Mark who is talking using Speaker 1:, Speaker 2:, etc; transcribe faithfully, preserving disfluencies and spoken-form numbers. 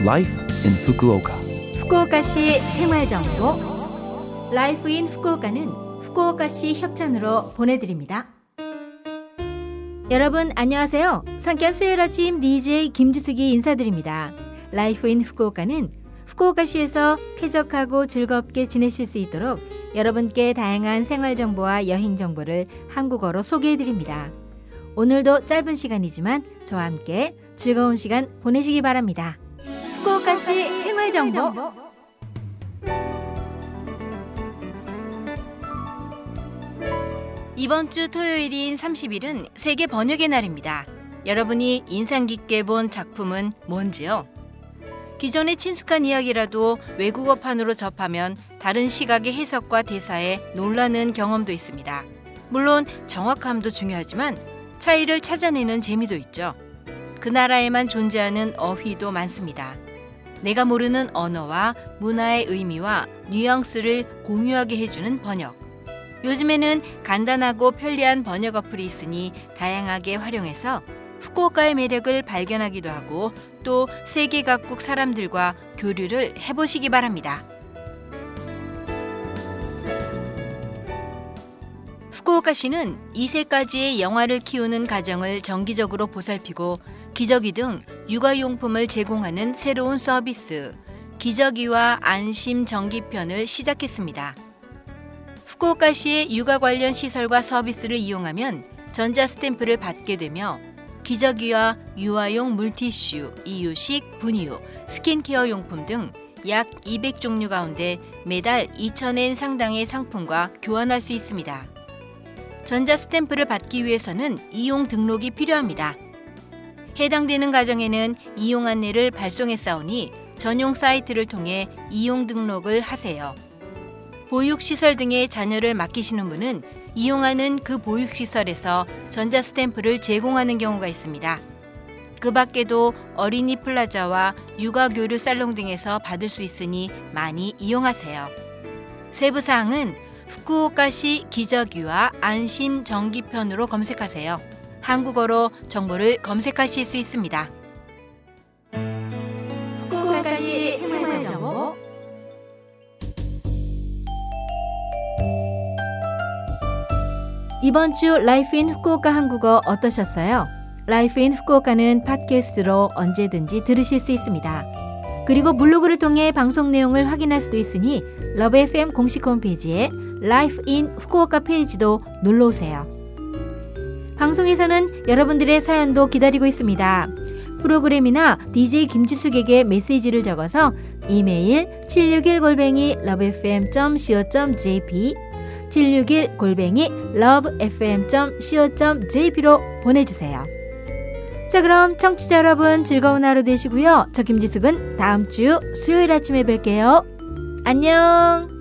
Speaker 1: Life in Fukuoka.
Speaker 2: 후쿠오카시 생활정보 Life in 후쿠오카는 후쿠오카시 협찬으로 보내드립니다. 여러분 안녕하세요. 상쾌한 수요일 아침 디제이 김지숙이 인사드립니다. Life in 후쿠오카는 후쿠오카시에서 쾌적하고 즐겁게 지내실 수 있도록 여러분께 다양한 생활정보와 여행정보를 한국어로 소개해드립니다. 오늘도 짧은 시간이지만 저와 함께 즐거운 시간 보내시기 바랍니다. 후쿠오카시 생활정보 이번 주 토요일인 삼십 일은 세계 번역의 날입니다. 여러분이 인상 깊게 본 작품은 뭔지요? 기존의 친숙한 이야기라도 외국어판으로 접하면 다른 시각의 해석과 대사에 놀라는 경험도 있습니다. 물론 정확함도 중요하지만 차이를 찾아내는 재미도 있죠. 그 나라에만 존재하는 어휘도 많습니다. 내가 모르는 언어와 문화의 의미와 뉘앙스를 공유하게 해주는 번역. 요즘에는 간단하고 편리한 번역 어플이 있으니 다양하게 활용해서 후쿠오카의 매력을 발견하기도 하고 또 세계 각국 사람들과 교류를 해보시기 바랍니다. 후쿠오카시는 이 세까지의 영아를 키우는 가정을 정기적으로 보살피고 기저귀 등 육아용품을 제공하는 새로운 서비스 기저귀와 안심 정기편을 시작했습니다. 후쿠오카시의 육아 관련 시설과 서비스를 이용하면 전자 스탬프를 받게 되며 기저귀와 유아용 물티슈, 이유식, 분유, 스킨케어 용품 등 약 이백 종류 가운데 매달 이천 엔 상당의 상품과 교환할 수 있습니다. 전자 스탬프를 받기 위해서는 이용 등록이 필요합니다. 해당되는 가정에는 이용 안내를 발송했사오니 전용 사이트를 통해 이용 등록을 하세요. 보육시설 등의 자녀를 맡기시는 분은 이용하는 그 보육시설에서 전자 스탬프를 제공하는 경우가 있습니다. 그 밖에도 어린이 플라자와 육아교류 살롱 등에서 받을 수 있으니 많이 이용하세요. 세부사항은 후쿠오카시 기저귀와 안심 정기편으로 검색하세요. 한국어로 정보를 검색하실 수 있습니다. 후쿠오카시 생활정보 이번 주 라이프 인 후쿠오카 한국어 어떠셨어요? 라이프 인 후쿠오카는 팟캐스트로 언제든지 들으실 수 있습니다. 그리고 블로그를 통해 방송 내용을 확인할 수도 있으니 러브 에프엠 공식 홈페이지에 라이프 인 후쿠오카 페이지도 놀러오세요. 방송에서는 여러분들의 사연도 기다리고 있습니다. 프로그램이나 디제이 김지숙에게 메시지를 적어서 이메일 칠육일 골뱅이 러브에프엠 닷 씨오 닷 제이피 칠육일 골뱅이 러브에프엠 닷 씨오 닷 제이피로 보내주세요. 자, 그럼 청취자 여러분 즐거운 하루 되시고요. 저 김지숙은 다음 주 수요일 아침에 뵐게요. 안녕.